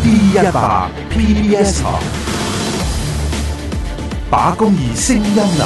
D100 PBS 台，把公義聲音留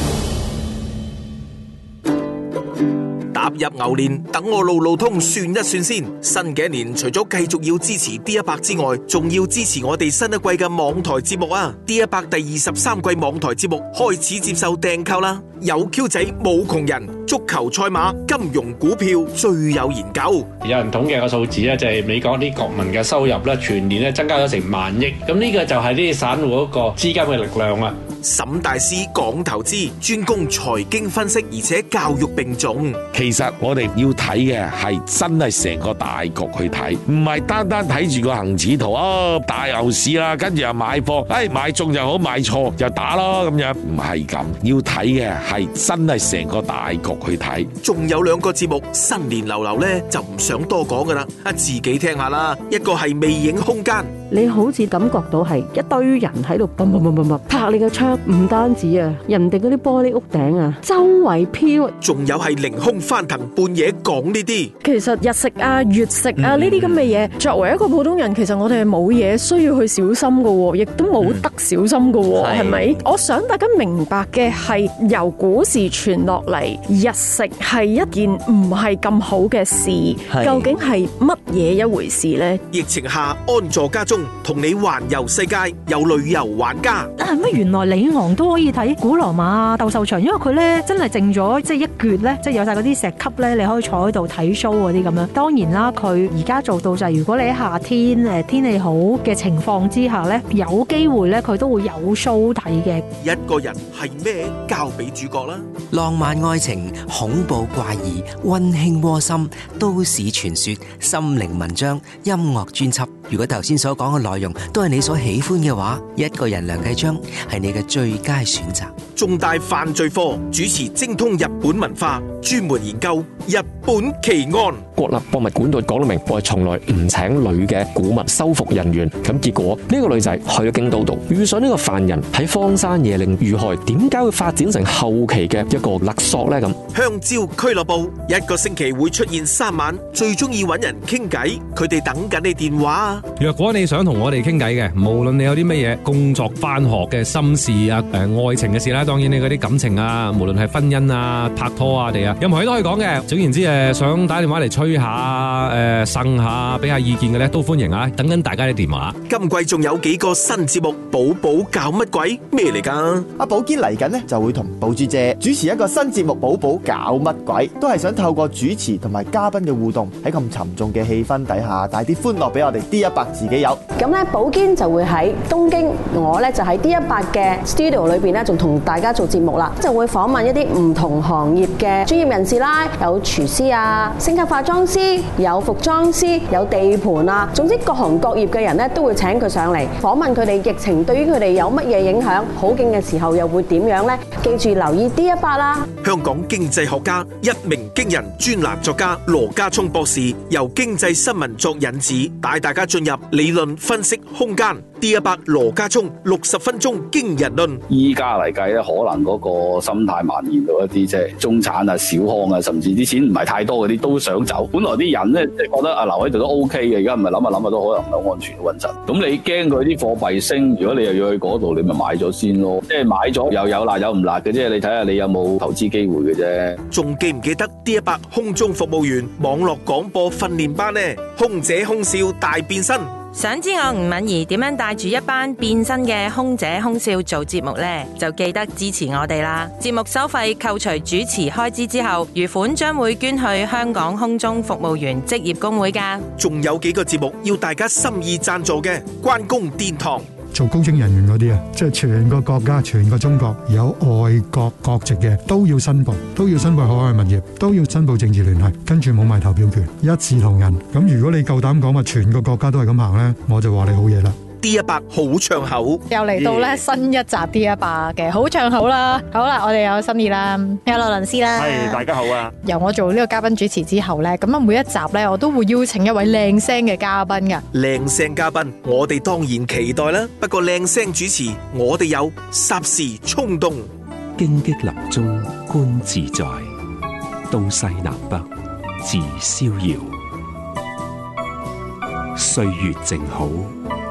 住。 踏入牛年，等我路路通算一算先。新嘅一年，除咗繼續要支持 D100 之外，仲要支持我哋新一季嘅網台節目啊！D100 第23季網台節目開始接受訂購啦！有 Q 仔冇窮人，足球賽馬、金融股票最有研究。 有人統計個數字咧，就係美國啲國民嘅收入咧，全年咧增加咗成萬億。咁呢個就係啲散戶嗰個資金嘅力量啊！ 沈大師講投資，專攻財經分析，而且教育並重。 其實我哋要睇嘅係真係成個大局去睇，唔係單單睇住個恆指圖啊，大牛市啦，跟住又買貨，買中又好，買錯又打咯咁樣，唔係咁。要睇嘅係真係成個大局去睇。 仲有兩個節目新年流流呢，就唔想多講噶啦，自己聽下啦。一個係魅影空間， 你好似感覺到係一堆人喺度拍你個窗，唔單止啊，人哋嗰啲玻璃屋頂啊，周圍飄。 仲有係凌空翻騰，半夜講呢啲。 其實日食啊、月食啊呢啲咁嘅嘢，作為一個普通人，其實我哋係冇嘢需要去小心噶，亦都冇得小心噶，係咪？我想大家明白嘅係，由古時傳落嚟，日食係一件唔係咁好嘅事。究竟係乜嘢一回事呢？ 疫情下安坐家中，同你環遊世界，有旅遊玩家。 乜原來里昂都可以睇古羅馬啊、鬥獸場，因為佢咧真係剩咗即係一橛咧，即係有晒嗰啲石級咧，你可以坐喺度睇 show 嗰啲咁樣。當然啦，佢而家做到就係如果你喺夏天天氣好嘅情況之下咧，有機會咧佢都會有 show 睇嘅。 一個人係咩？交俾主角啦。 浪漫愛情、恐怖怪異、溫馨窩心、都市傳說、心靈文章、音樂專輯。如果頭先所講嘅內容都係你所喜歡嘅話，一個人梁繼昌係你嘅最佳選擇。 中大犯罪科主持精通日本文化，專門研究日本奇案。 國立博物館度講到明，我係從來唔請女嘅古物修復人員。咁結果呢個女仔去咗京都度，遇上呢個犯人喺荒山野嶺遇害，點解會發展成後期嘅一個勒索呢？咁香蕉俱樂部一個星期會出現3晚，最中意揾人傾偈，佢哋等緊你電話啊！ 若果你想同我哋傾偈嘅，無論你有啲乜嘢工作、返學嘅心事啊、愛情嘅事啦，當然你嗰啲感情啊，無論係婚姻啊、拍拖啊哋啊，任何嘢都可以講嘅。總言之想打電話嚟吹下、呻下、俾下意見嘅咧，都歡迎啊！等緊大家啲電話。 今季仲有幾個新節目，寶寶搞乜鬼？咩嚟㗎？ 阿寶堅嚟緊呢，就會同寶珠姐主持一個新節目，寶寶搞乜鬼？都係想透過主持同埋嘉賓嘅互動，喺咁沉重嘅氣氛底下，帶啲歡樂俾我哋 D100 自己有。 咁咧，寶堅就會喺東京，我咧就喺 D100 嘅 studio 裏邊咧，仲同大家做節目啦，就會訪問一啲唔同行業嘅專業人士啦，有廚師啊、星級化妝師、有服裝師、有地盤啊，總之各行各業嘅人咧都會請佢上嚟訪問佢哋疫情對於佢哋有乜嘢影響，好景嘅時候又會點樣呢？記住留意 D100 啦。 香港經濟學家、一鳴驚人專欄作家羅家聰博士由經濟新聞作引子，帶大家進入理論分析空間。D100 羅家聰60分鐘驚人論。 依家嚟計咧，可能嗰個心態蔓延到一啲即係中產啊、小康啊，甚至啲錢唔係太多嗰啲都想走。本來啲人咧即係覺得留喺度都 OK 嘅，而家唔係諗下都可能唔係安全穩陣。咁你驚佢啲貨幣升，如果你又要去嗰度，你咪買咗先咯。即係買咗又有辣有唔辣嘅啫，你睇下你有冇投資機會嘅啫。 仲記唔記得 D100 空中服務員網絡廣播訓練班呢？空姐空少大變身。 想知我吳敏儀點樣帶住一班變身嘅空姐空少做節目呢？就記得支持我哋啦！節目收費扣除主持開支之後，餘款將會捐去香港空中服務員職業工會㗎。 仲有幾個節目要大家心意贊助嘅，關公殿堂。 做高精人員嗰啲啊，即係全個國家、全個中國有外國國籍嘅都要申報海外物業，都要申報政治聯繫，跟住冇埋投票權，一視同仁。咁如果你夠膽講話全個國家都係咁行呢，我就話你好嘢啦。 D100 好唱口， 又嚟到咧新一集 D100 嘅好唱口啦。好啦，我哋有新意啦，有羅倫斯啦。 係，大家好啊。 由我做呢個嘉賓主持之後咧，咁啊每一集咧，我都會邀請一位靚聲嘅嘉賓噶。 靚聲嘉賓，我哋當然期待啦。不過靚聲主持，我哋有霎時衝動， 荊棘林中觀自在，東西南北自逍遙。歲月靜好，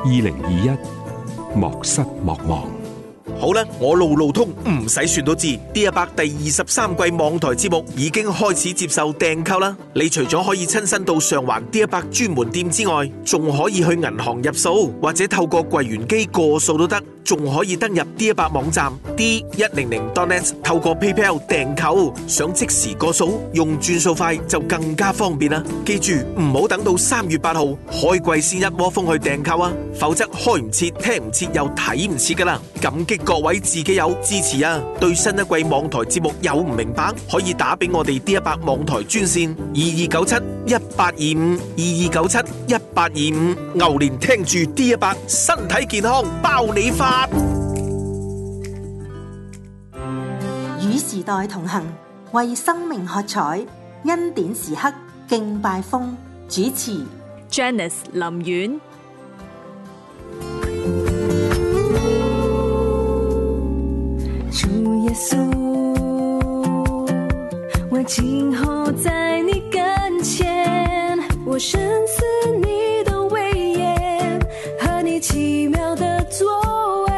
2021莫失莫忘。 好啦，我路路通唔使算都知，D100第23季網台節目已經開始接受訂購啦。你除咗可以親身到上環D100專門店之外，仲可以去銀行入數，或者透過櫃員機過數都得，仲可以登入 D100網站 D100.net 透過 PayPal 訂購，想即時過數用轉數快就更加方便啦。記住唔好等到3月8號開季先一窩蜂去訂購啊，否則開唔切、聽唔切又睇唔切噶啦。感激各位自己有支持啊！對新一季網台節目有唔明白，可以打俾我哋 D100網台專線2297-1825 2297-1825。牛年聽住 D100，身體健康包你發。 與時代同行，為生命喝彩，恩典時刻敬拜風。主持 Janice 林苑。 主耶穌，我今後在你跟前，我深思你的威嚴和你奇妙的作為，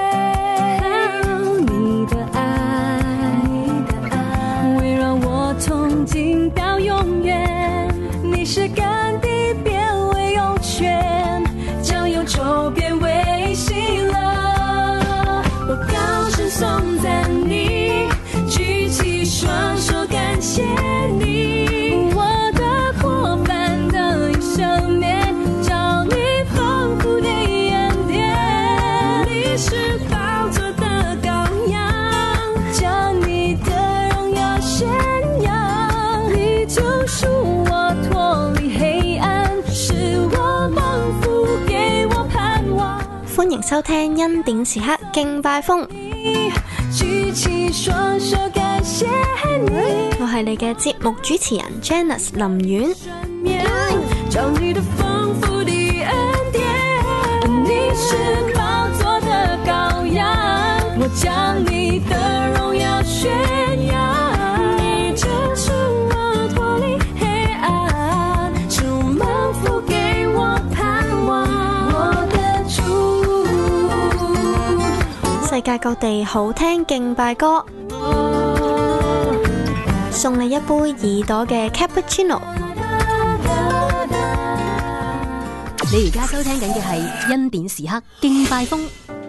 你的愛圍繞我從今到永遠，你是乾地變為湧泉，將憂愁變為喜樂，我高聲頌讚你，舉起雙手感謝你，我的過犯得以赦免，照你豐富的恩典，你是寶座的羔羊，將你的榮耀宣揚，你救贖我脫離黑暗，使我蒙福給我盼望。 歡迎收聽恩典時刻敬拜風， 舉起雙手感謝你， 我係你嘅節目主持人 Janice 林苑。 將你的豐富的恩典，你是寶座的羔羊，我將你的榮耀宣揚，你救贖我脫離黑暗，使我蒙福給我盼望，我的主。 世界各地好聽敬拜歌，送你一杯耳朵嘅 cappuccino。 你而家收聽緊嘅係恩典時刻敬拜風。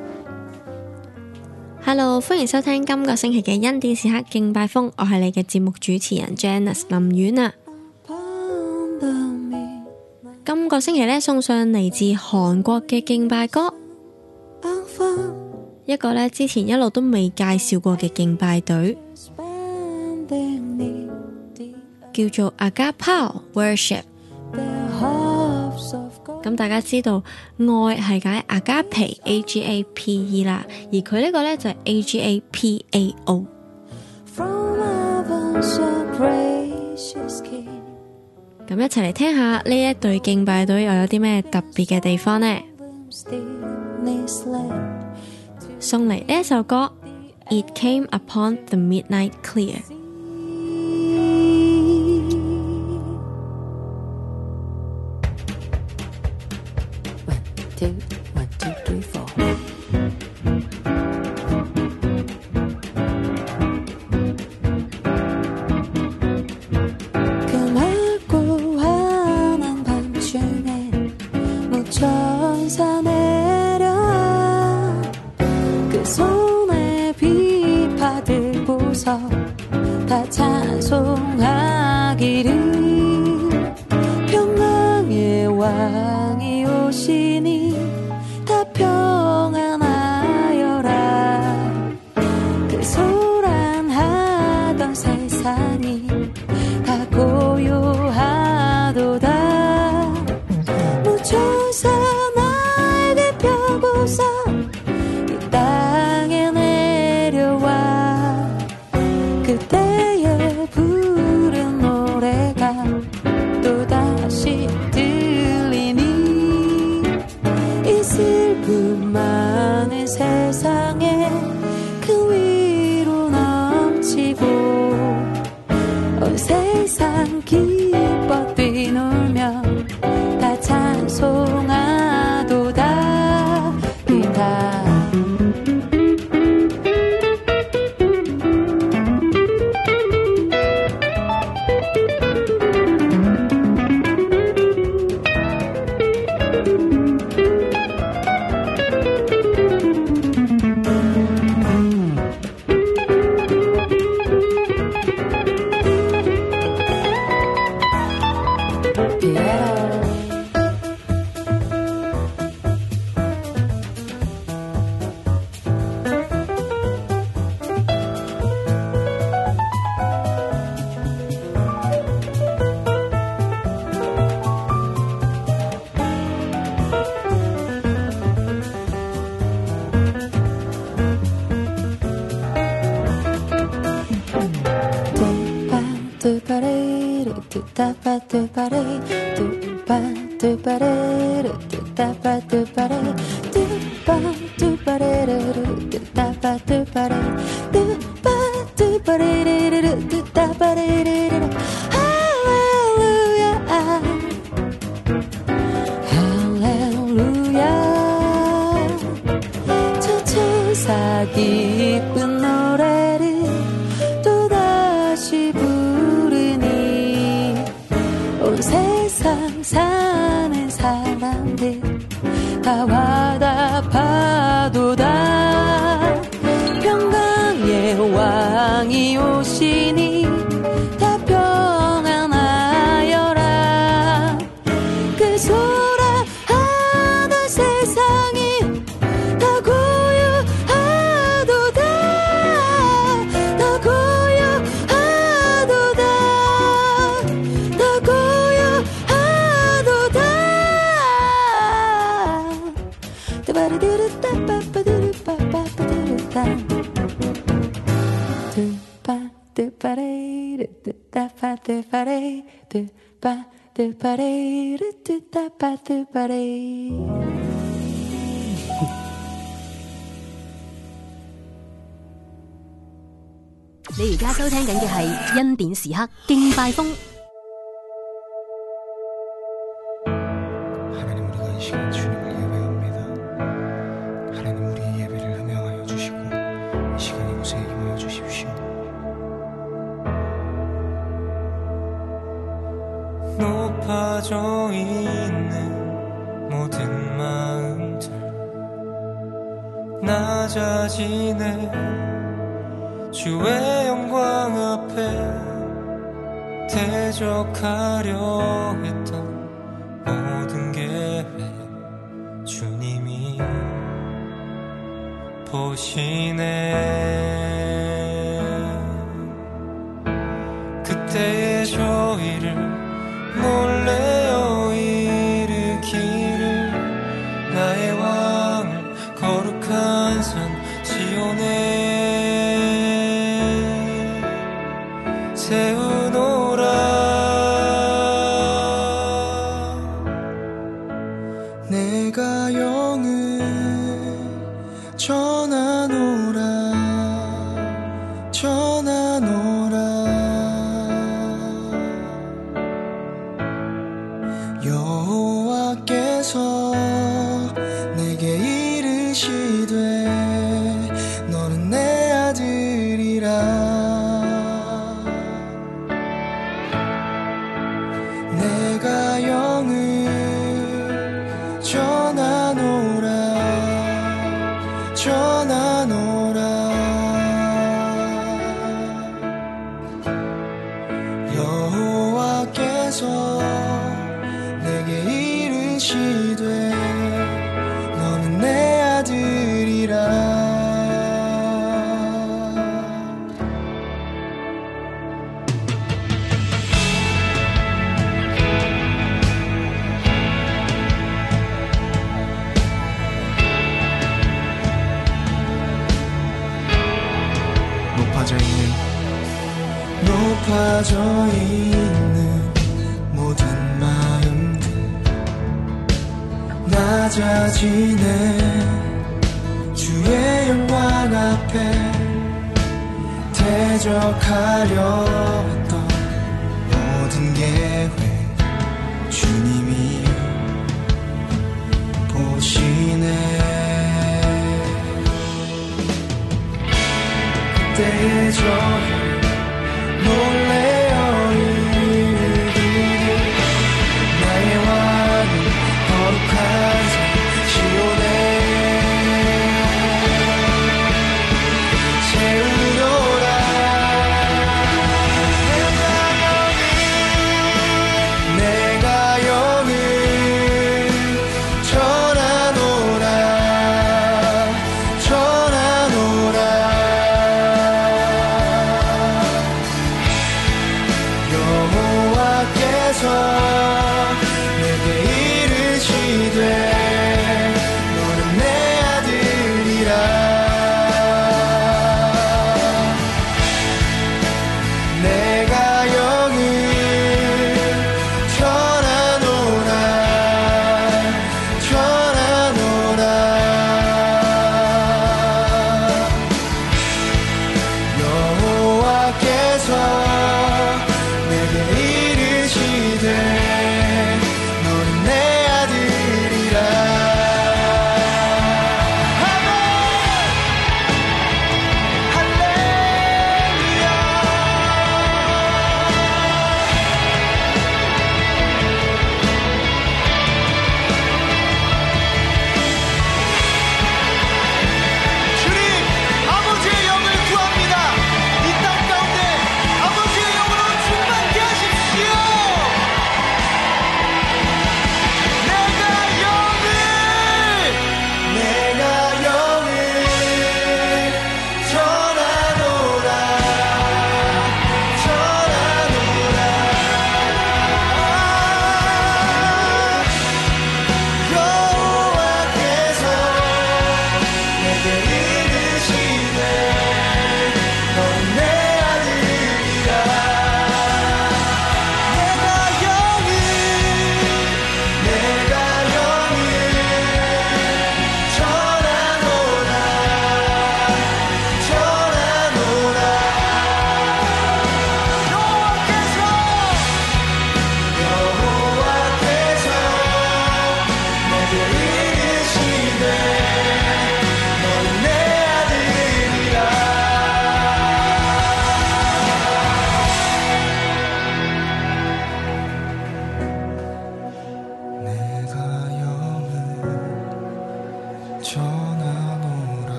Hello， 歡迎收聽今個星期嘅恩典時刻敬拜風，我係你嘅節目主持人 Janice 林苑啊。今個星期呢，送上嚟自韓國嘅敬拜歌，一個呢之前一路都未介紹過嘅敬拜隊，叫做 Agapao Worship。咁大家知道愛係解 Agape AGAPE 啦，而佢呢個呢就係 AGAPAO。咁一齊嚟聽下呢一隊敬拜隊又有啲咩特別嘅地方呢？送嚟呢一首歌 It Came Upon the Midnight Clear。 One, two, three, four. 그 맑고 환한 밤중에 무천사 내려와 그 손에 비파 들고서 다 찬송하기를 평강의 왕이 오시니 다 평안하여라. 그 소란하던 세상이 다 고요하도다. 무천사 날개 펴고서 이 땅에 내려와 그때에 부른 노래가 또다시 슬픔 많은 세상에 그 위로 넘치고 온 세상 기뻐 뛰놀며 다 찬송하도다. 깊은 노래를 또다시 부르니 온 세상 사는 사람들 다 와답하도다. 평강의 왕이 오시니 다 평안하여라. 그 소라 하던 세상이 다 고요하도다. 다 고요하도다. 다 고요하도다. 따바르르르따빠빠르르빠빠르르따 你而家收聽緊嘅係恩典時刻敬拜風。 높아져 있는 모든 마음들 낮아지네. 주의 영광 앞에 대적하려 했던 모든 계획 주님이 보시네. 그때의 저희를 놀래어 일으키를 나의 왕을 거룩한 산 시온에 세우노라. 내가 영을 전하노라. 전하노라. 여호와께서 내게 이르시되 너는 내 아들이라. 내가 영을 전하노라. 전하노라. 여호와께서 내게 이르시되 너는 내 아들이라. 높아져 있는 모든 마음들 낮아지네. 주의 영광 앞에 대적하려 했던 모든 계획 주님이 보시네. 그때의 저희 놀래어 이르기를 나의 왕은 거룩한 산 시온에 세우노라. 내가 영을 전하노라. 전하노라.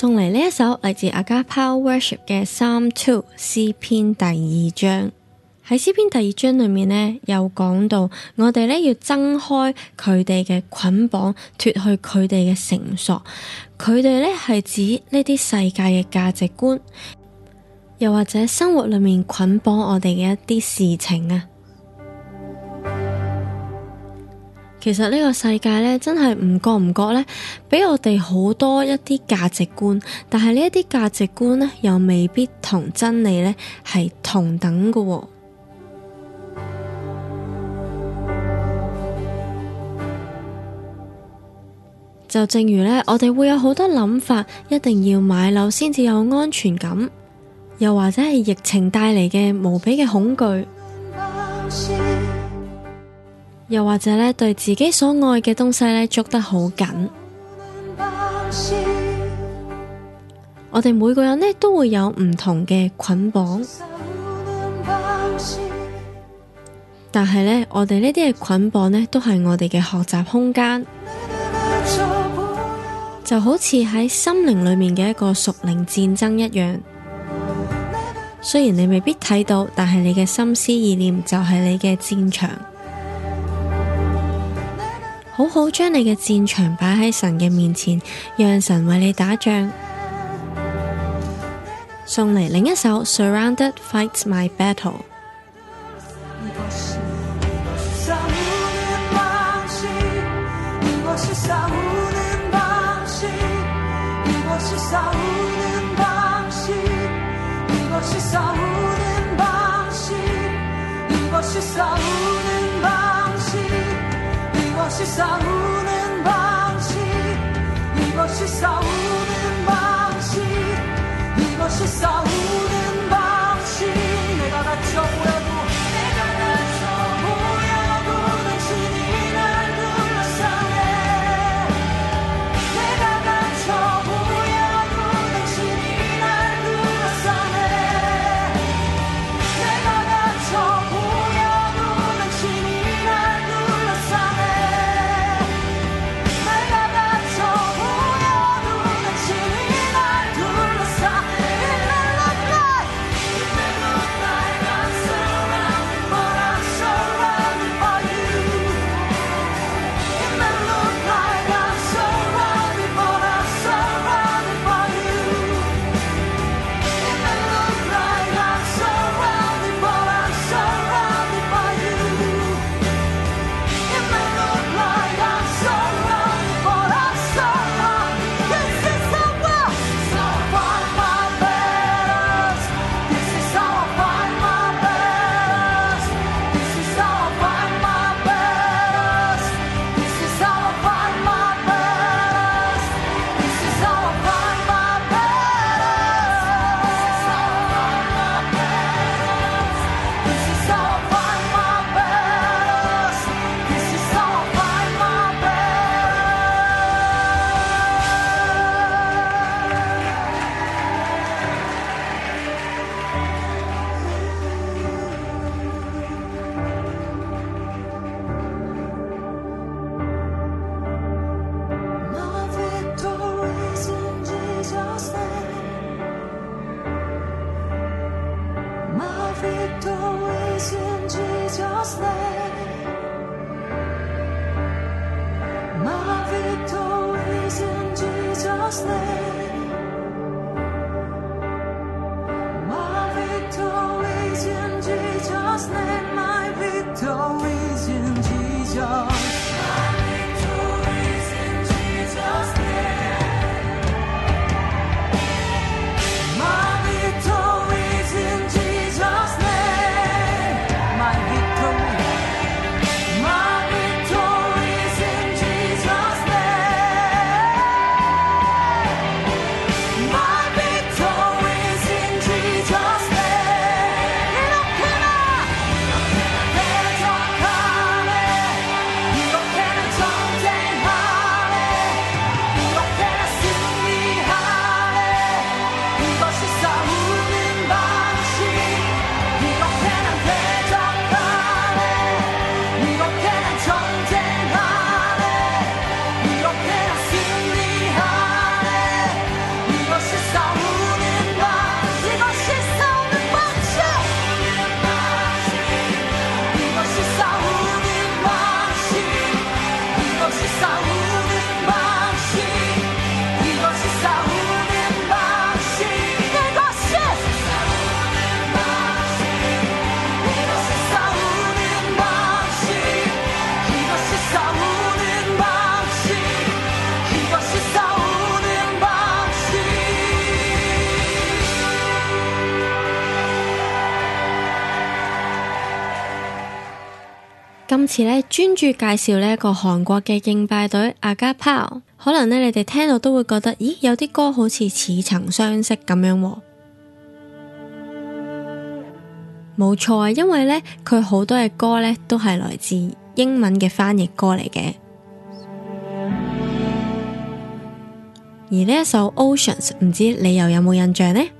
送嚟呢一首嚟自 Agapao Worship 嘅 Psalm 2詩篇第2章。喺詩篇第2章裏面呢，有講到我哋呢要掙開佢哋嘅捆綁，脫去佢哋嘅繩索。佢哋呢係指呢啲世界嘅價值觀，又或者生活裏面捆綁我哋嘅一啲事情啊。其實呢個世界呢，真係唔覺呢，俾我哋好多一啲價值觀，但係呢一啲價值觀呢，又未必同真理呢係同等嘅喎。就正如呢，我哋會有好多諗法，一定要買樓先至有安全感，又或者係疫情帶嚟嘅無比嘅恐懼，又或者呢，對自己所愛嘅東西呢捉得好緊。我哋每個人呢都會有唔同嘅捆綁，但係呢，我哋呢啲嘅捆綁呢都係我哋嘅學習空間。就好似喺心靈裏面嘅一個屬靈戰爭一樣，雖然你未必睇到，但係你嘅心思意念就係你嘅戰場。好好將你嘅戰場擺喺神嘅面前，讓神為你打仗。送嚟另一首 Surrounded Fights My Battle。 今次咧專注介紹呢一個韓國嘅敬拜隊AGAPAO，可能咧你哋聽到都會覺得，咦，有啲歌好似似曾相識咁樣喎。冇錯啊，因為咧佢好多嘅歌咧都係來自英文嘅翻譯歌嚟嘅。而呢一首 Oceans， 唔知你又有冇印象呢？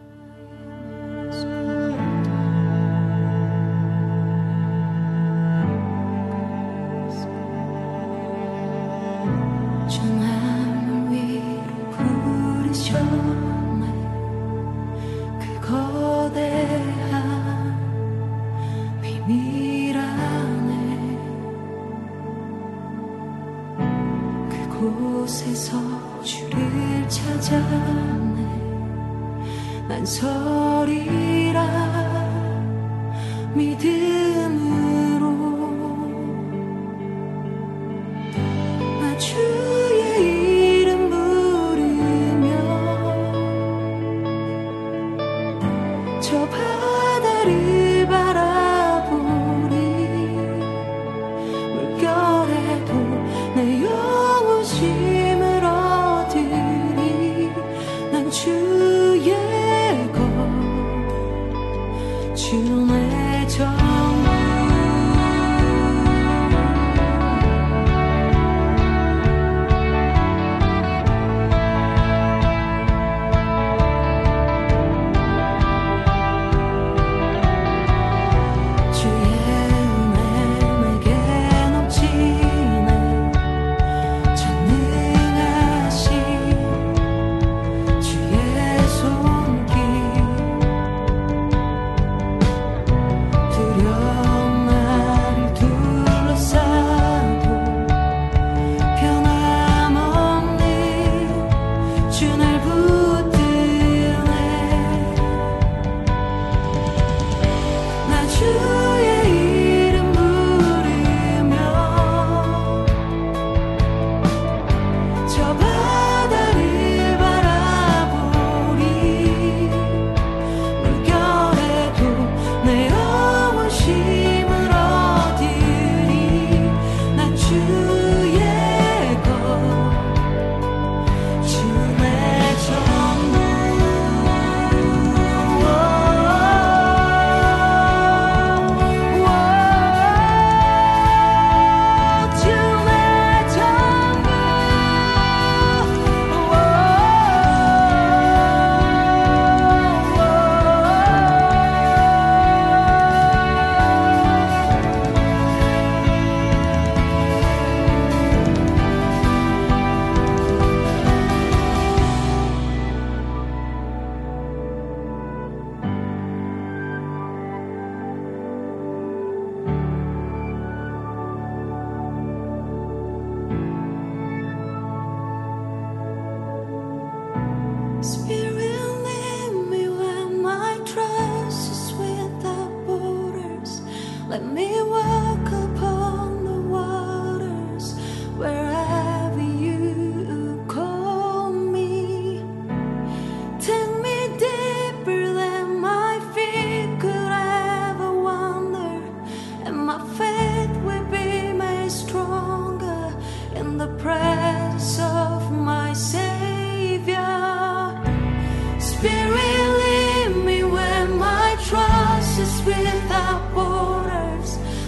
Without borders,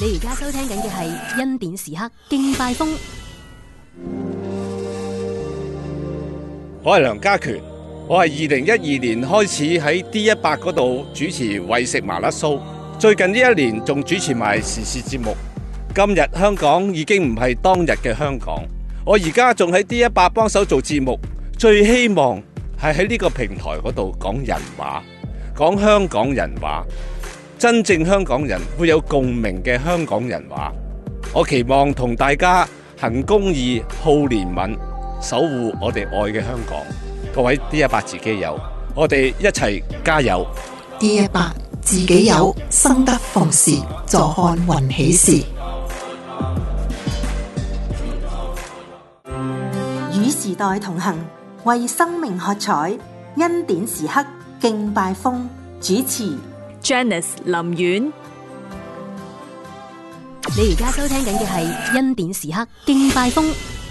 你而家收聽緊嘅係恩典時刻敬拜風。 我係梁家權，我係2012年開始喺 D100嗰度主持為食麻辣騷，最近呢一年仲主持埋時事節目。今日香港已經唔係當日嘅香港，我而家仲喺 D100幫手做節目，最希望係喺呢個平台嗰度講人話，講香港人話，真正香港人會有共鳴嘅香港人話。我期望同大家行公義、好憐憫，守護我哋愛嘅香港。各位 D100 自己友，我哋一齊加油。 D100 自己友，生得逢時，坐看雲起時。 與時代同行，為生命喝彩，恩典時刻敬拜風。主持 Janice 林苑。你而家收聽緊嘅係恩典時刻敬拜風。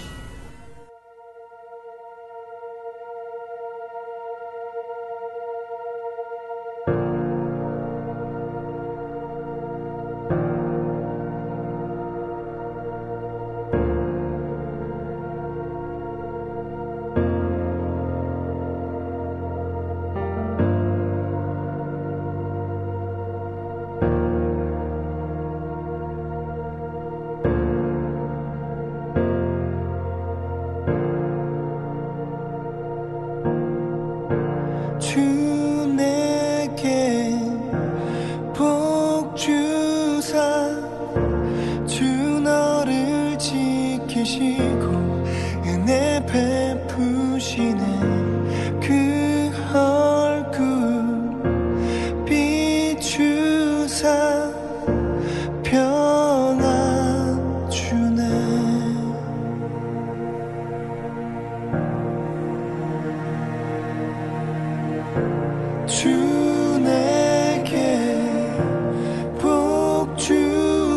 주 내게 복 주사 주 너를 지키시고 은혜 베푸시네 그 얼굴 비추사 평안 주네 주 내게 복 주사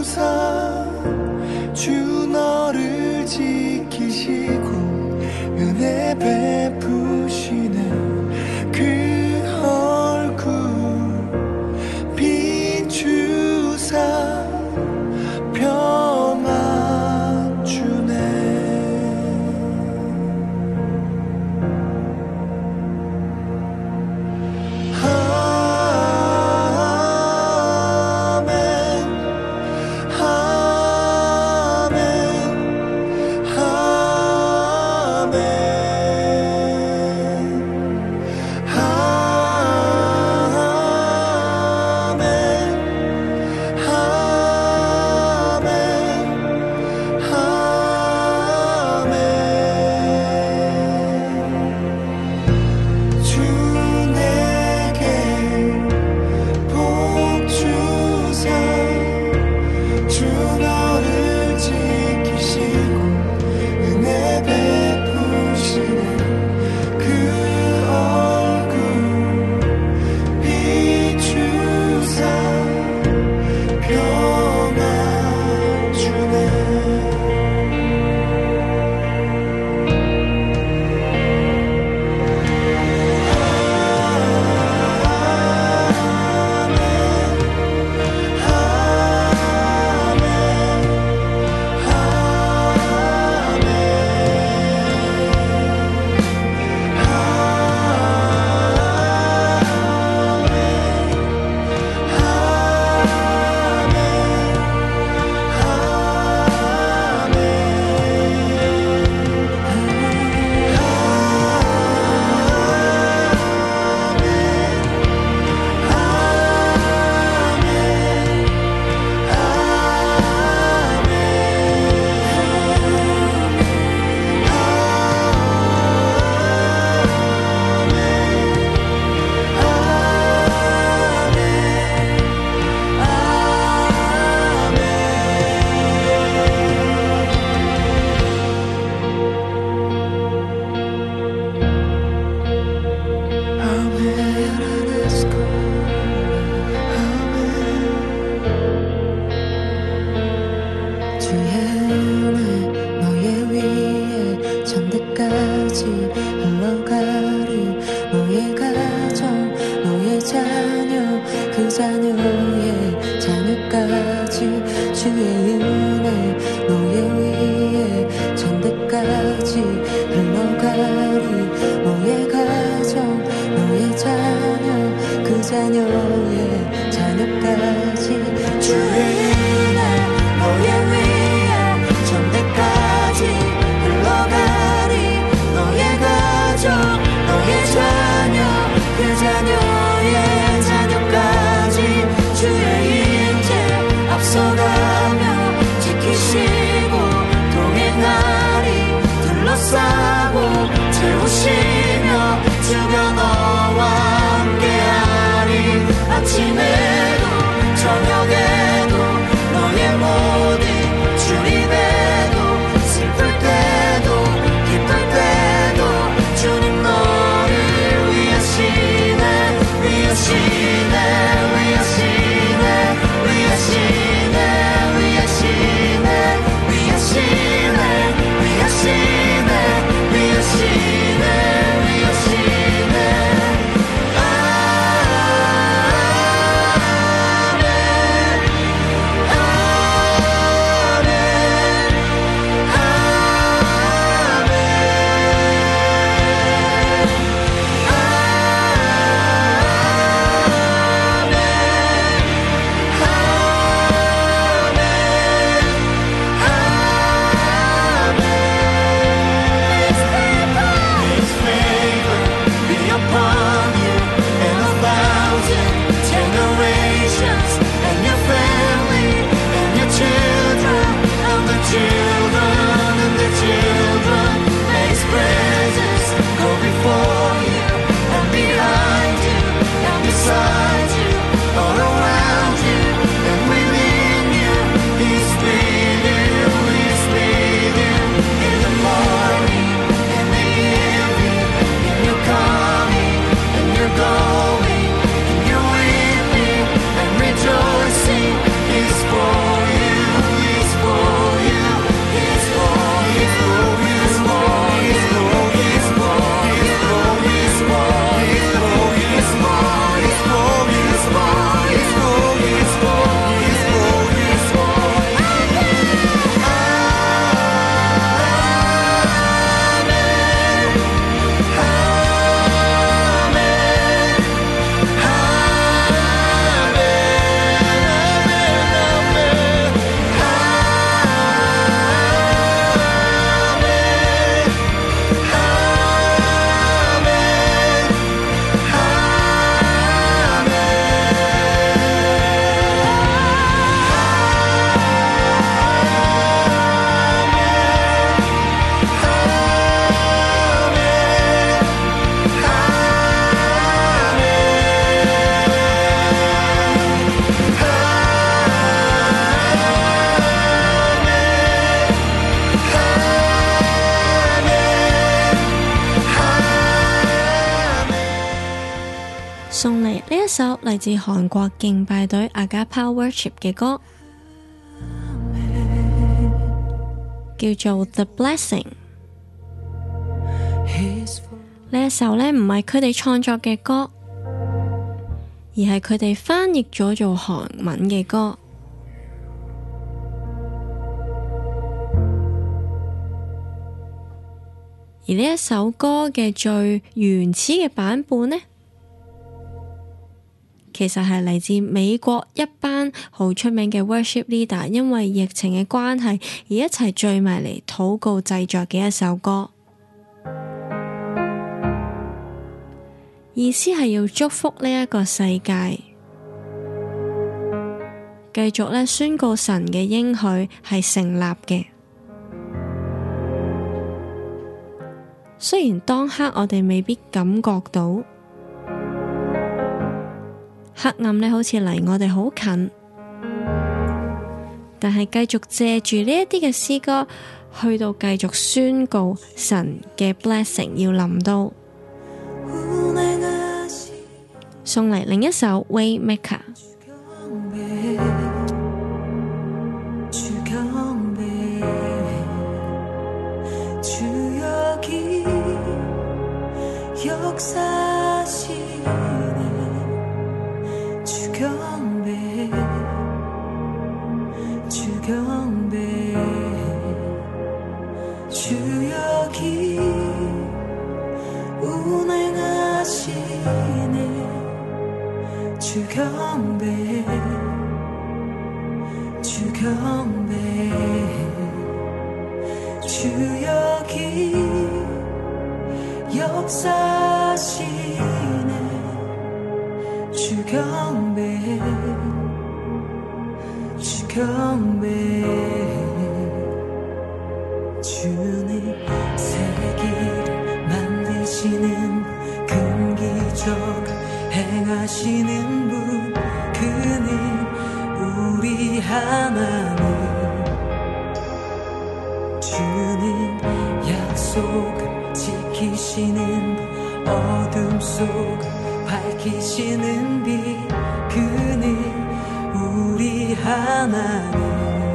주의 은혜 너의 위에 천대까지 흘러가리 너의 가정 너의 자녀 그 자녀의 자녀까지 주의 은혜 너의 위에 천대까지 흘러가리 너의 가정 너의 자녀 그 자녀의 자녀까지 주의 인재 앞서가며 지키시고 동행하리 둘러싸고 채우시며 주가 너와 함께하리 아침에도 저녁에도 너의 모든 주님에도 슬플 때도 기쁠 때도 주님 너를 위하시네 위하시네 위하시네 위하시네 위하시네 위하시네 위하시네 위하시네 위하시네 送嚟呢一首嚟自韓國敬拜隊 Agapa Worship 嘅歌，叫做 The Blessing。 呢一首呢唔係佢哋創作嘅歌，而係佢哋翻譯咗做韓文嘅歌。而呢一首歌嘅最原始嘅版本呢，其實係嚟自美國一班好出名嘅 worship leader， 因為疫情嘅關係而一齊聚埋嚟禱告製作嘅一首歌。意思係要祝福呢一個世界，繼續咧宣告神嘅應許係成立嘅。雖然當刻我哋未必感覺到黑暗呢好似離我哋好近，但係繼續借住呢一啲嘅詩歌去到繼續宣告神嘅 blessing 要臨到。送嚟另一首 Waymaker。 주 주경배 주역이 역사시네 주경배 주님 세기를 만드시는 금기적 행하시는 분 그는 우리 하나님 주는 약속을 지키시는 분 어둠 속을 밝히시는 빛 그는 우리 하나님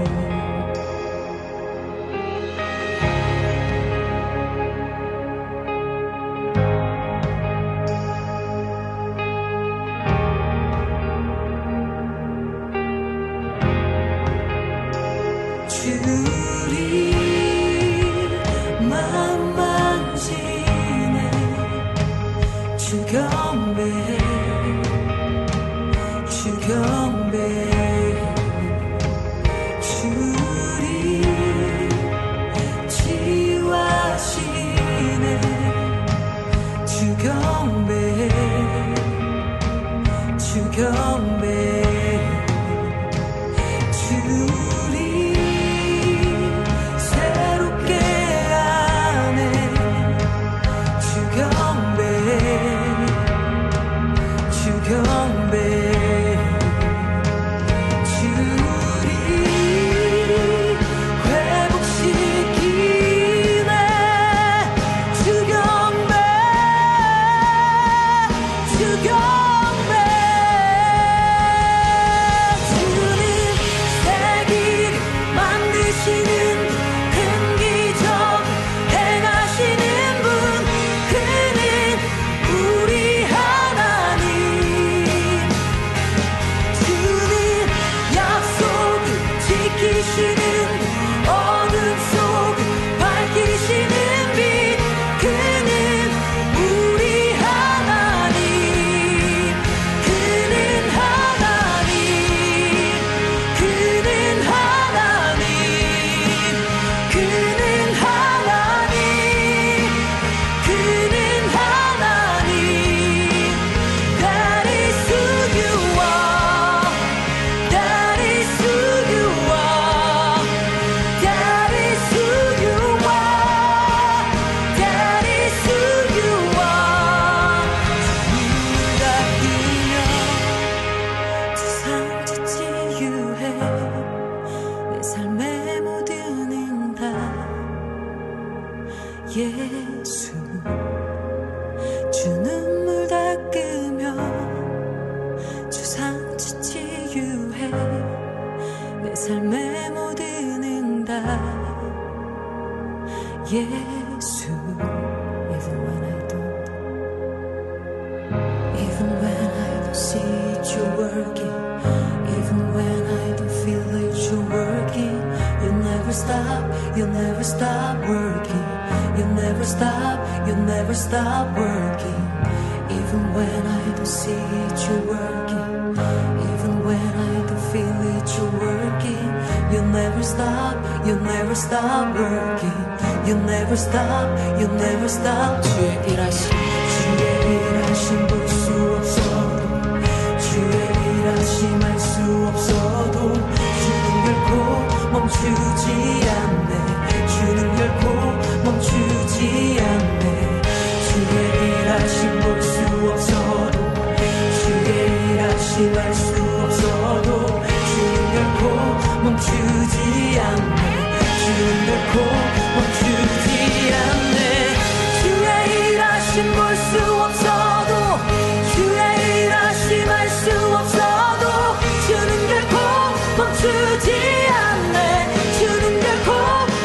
예수 주 눈물 닦으며 주 상처 치유해 내 삶의 모든 응답 예수 Even when I don't see you working Even when I don't feel it you're working You never stop working You never stop working Even when I don't see it you're working Even when I don't feel it you're working You never stop working You never stop 주의 일하심 볼 수 없어도 주의 일하심 알 수 없어도 주는 결코 멈추지 않네 주는 결코 멈추지 않네 주의 일하심 볼 수 없어도 주의 일하심 알 수 없어도 주는 결코 멈추지 않네 주는 결코 멈추지 않네 주의 일하심 볼 수 없어도 주의 일하심 알 수 없어도 주는 결코 멈추지 않네 주는 결코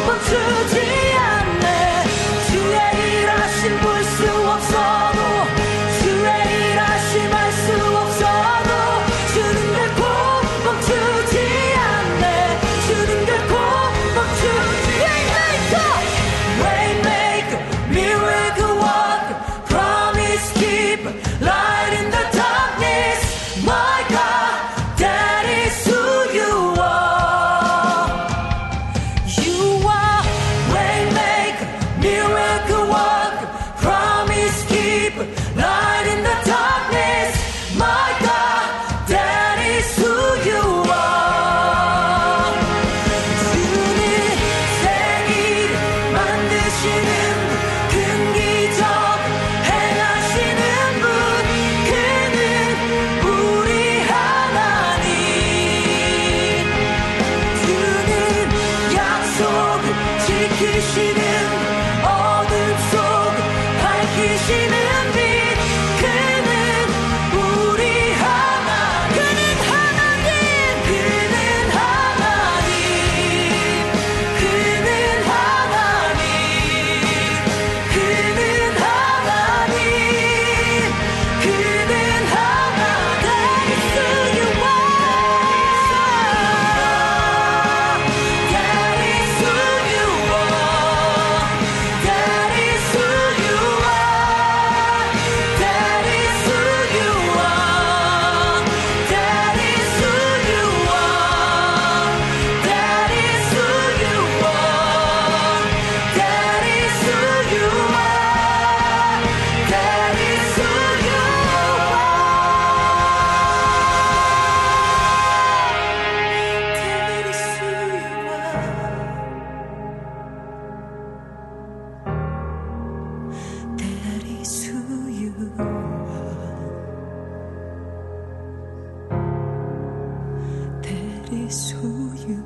소유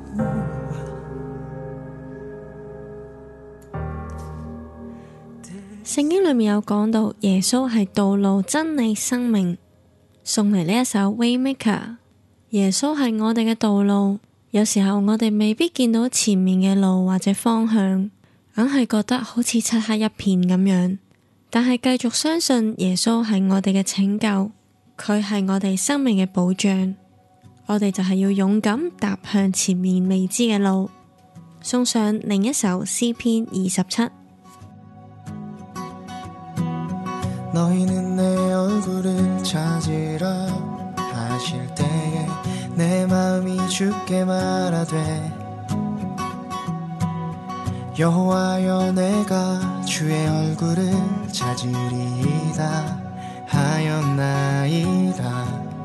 聖經裏面有講到耶穌係道路、真理、生命，送嚟呢一首 Waymaker。耶穌係我哋嘅道路，有時候我哋未必見到前面嘅路或者方向，硬係覺得好似漆黑一片咁樣。但係繼續相信耶穌係我哋嘅拯救，佢係我哋生命嘅保障，我哋就係要勇敢踏向前面未知嘅路。送上另一首詩篇27。 너희는 내 얼굴을 찾으라 하실 때에 내 마음이 주께 말하되 여호와여 내가 주의 얼굴을 찾으리이다 하였나이다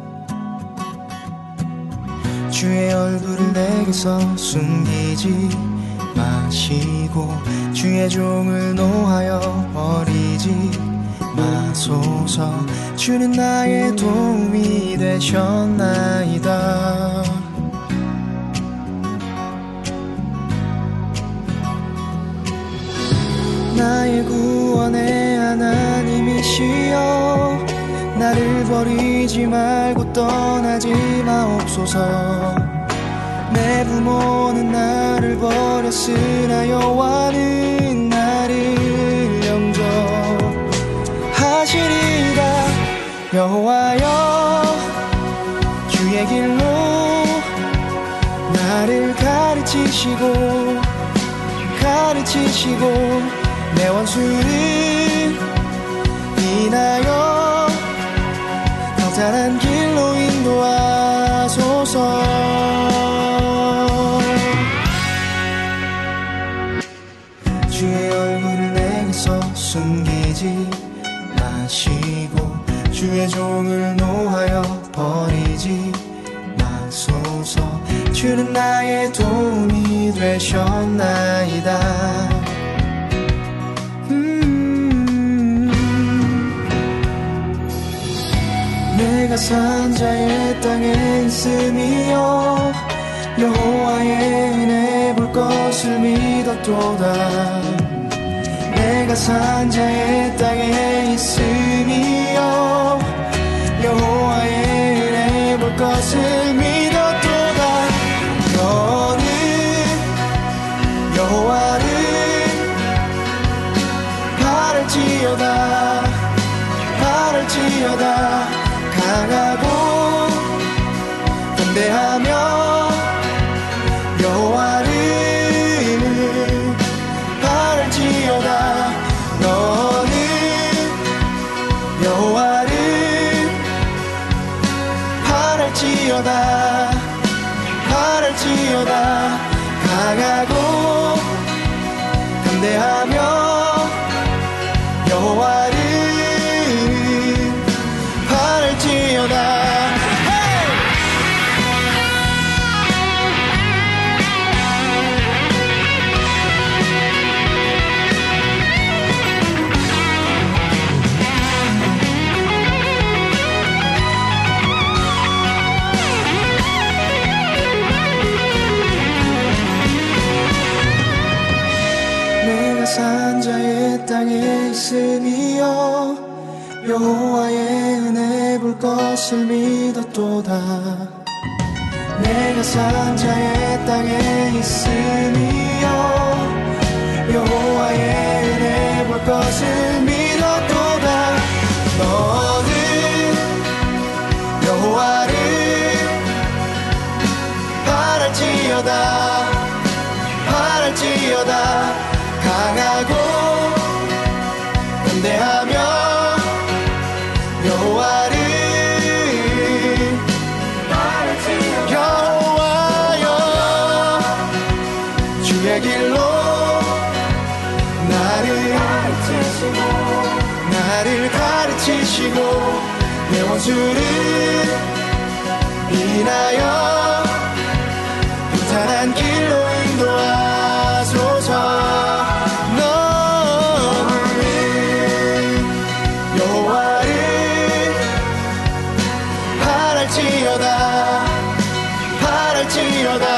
주의 얼굴을 내게서 숨기지 마시고 주의 종을 노하여 버리지 마소서 주는 나의 도움이 되셨나이다 나의 구원의 하나님이시여 나를 버리지 말고 떠나지 마옵소서 내 부모는 나를 버렸으나 여호와는 나를 영접하시리다 여호와여 주의 길로 나를 가르치시고 내 원수를 인하여 더 잘한 길로 인도하소서 주의 얼굴을 내게서 숨기지 마시고 주의 종을 노하여 버리지 마소서 주는 나의 도움이 되셨나이다 내가 산자의 땅에 있음이여 여호와의 은혜 볼 것을 믿었도다 내가 산자의 땅에 있음이여 여호와의 은혜 볼 것을 믿었도다 너는 여호와를 바랄지어다 강하고 담대하며 여호와를 바랄지어다 너는 여호와를 바랄지어다 강하고 담대하며 여호와를 내가 산자의 땅에 있음이여 여호와의 은혜 볼 것을 믿었도다 내가 산자의 땅에 있음이여 여호와의 은혜 볼 것을 믿었도다 너는 여호와를 바랄지어다 강하고 담대하며 여호와를 여호와여 주의 길로 나를 가르치시고 내 원수를 인하여 평탄한 길로 인도하소서 너는 여호와를 바랄지어다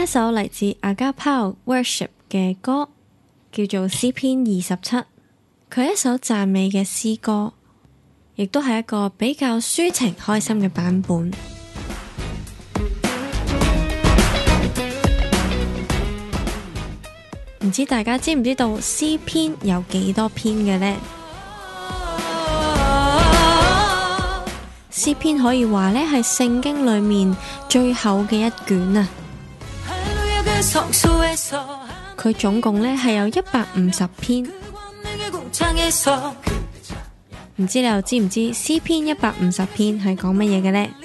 首嚟自 Agapao Worship 嘅歌，叫做詩篇27。佢係一首讚美嘅詩歌，亦都係一個比較抒情開心嘅版本。唔知大家知唔知道詩篇有幾多篇嘅呢？詩篇可以話呢係聖經裏面最厚嘅一卷啊！佢總共呢係有150篇。唔知你又知唔知詩篇150篇係講乜嘢嘅呢？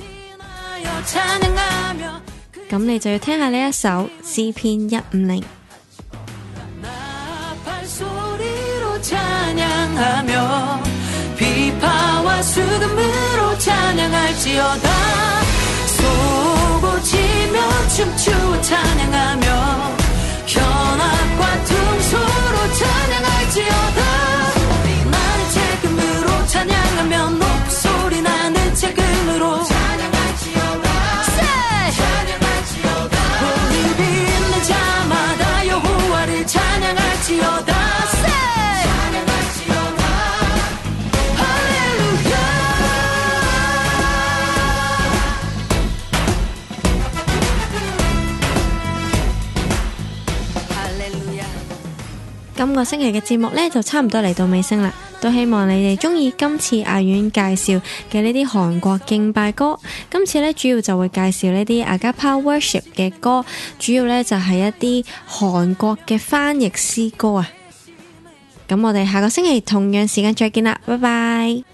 咁你就要聽下呢一首詩篇150。今個星期嘅節目呢，就差唔多嚟到尾聲啦，都希望你哋中意今次阿遠介紹嘅呢啲韓國敬拜歌。今次呢，主要就會介紹呢啲 Agapao Worship 嘅歌，主要呢就係一啲韓國嘅翻譯詩歌啊。咁我哋下個星期同樣時間再見啦，拜拜。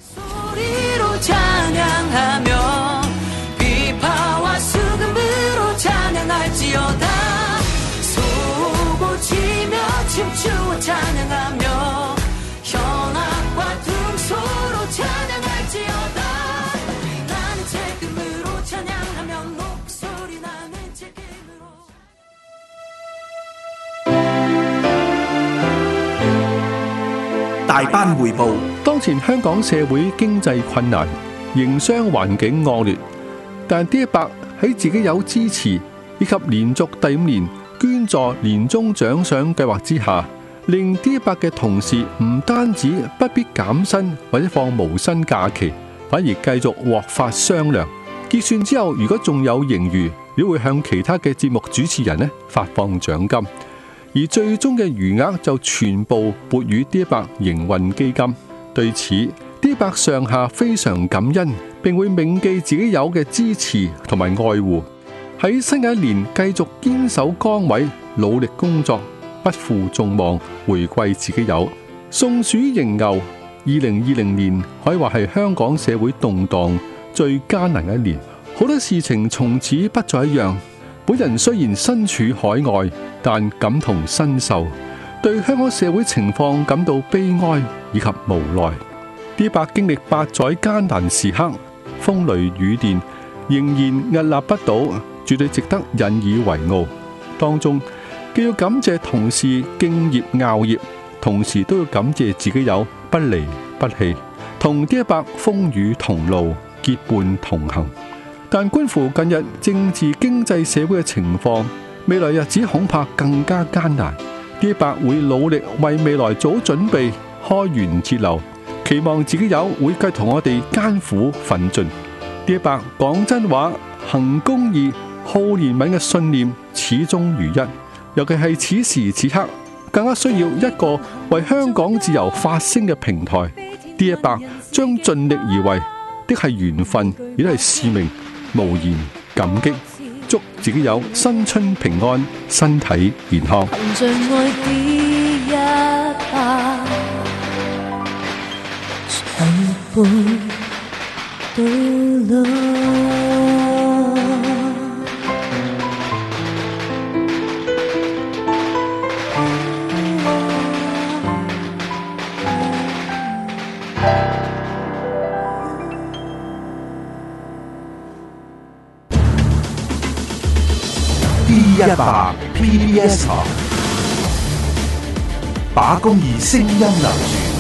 大班匯報。 當前香港社會經濟困難，營商環境惡劣，但 D100喺自己有支持以及連續第5年捐助年終獎賞計劃之下，令 D100嘅同事唔單止不必減薪或者放無薪假期，反而繼續獲發雙糧。結算之後，如果仲有盈餘，亦會向其他嘅節目主持人發放獎金。而最終嘅餘額就全部撥予 D100營運基金。對此 D100上下非常感恩，並會銘記自己有嘅支持同埋愛護，喺新嘅一年繼續堅守崗位，努力工作，不負眾望，回饋自己有。送鼠迎牛，2020年可以話係香港社會動盪最艱難嘅一年，好多事情從此不再一樣。本人雖然身處海外，但感同身受，對香港社會情況感到悲哀以及無奈。D100經歷8載艱難時刻，風雷雨電，仍然屹立不倒，絕對值得引以為傲。當中既要感謝同事敬業熬業，同時都要感謝自己有不離不棄，同 D100風雨同路，結伴同行。但觀乎近日政治經濟社會嘅情況，未來日子恐怕更加艱難。D100會努力為未來做好準備，開源節流，期望自己有會繼續同我哋艱苦奮進。D100講真話、行公義、好憐憫嘅信念始終如一，尤其係此時此刻，更加需要一個為香港自由發聲嘅平台。D100將盡力而為，的係緣分，亦都係使命。無言感激，祝自己有新春平安，身體健康。 D100 PBS 台，把公義聲音留住。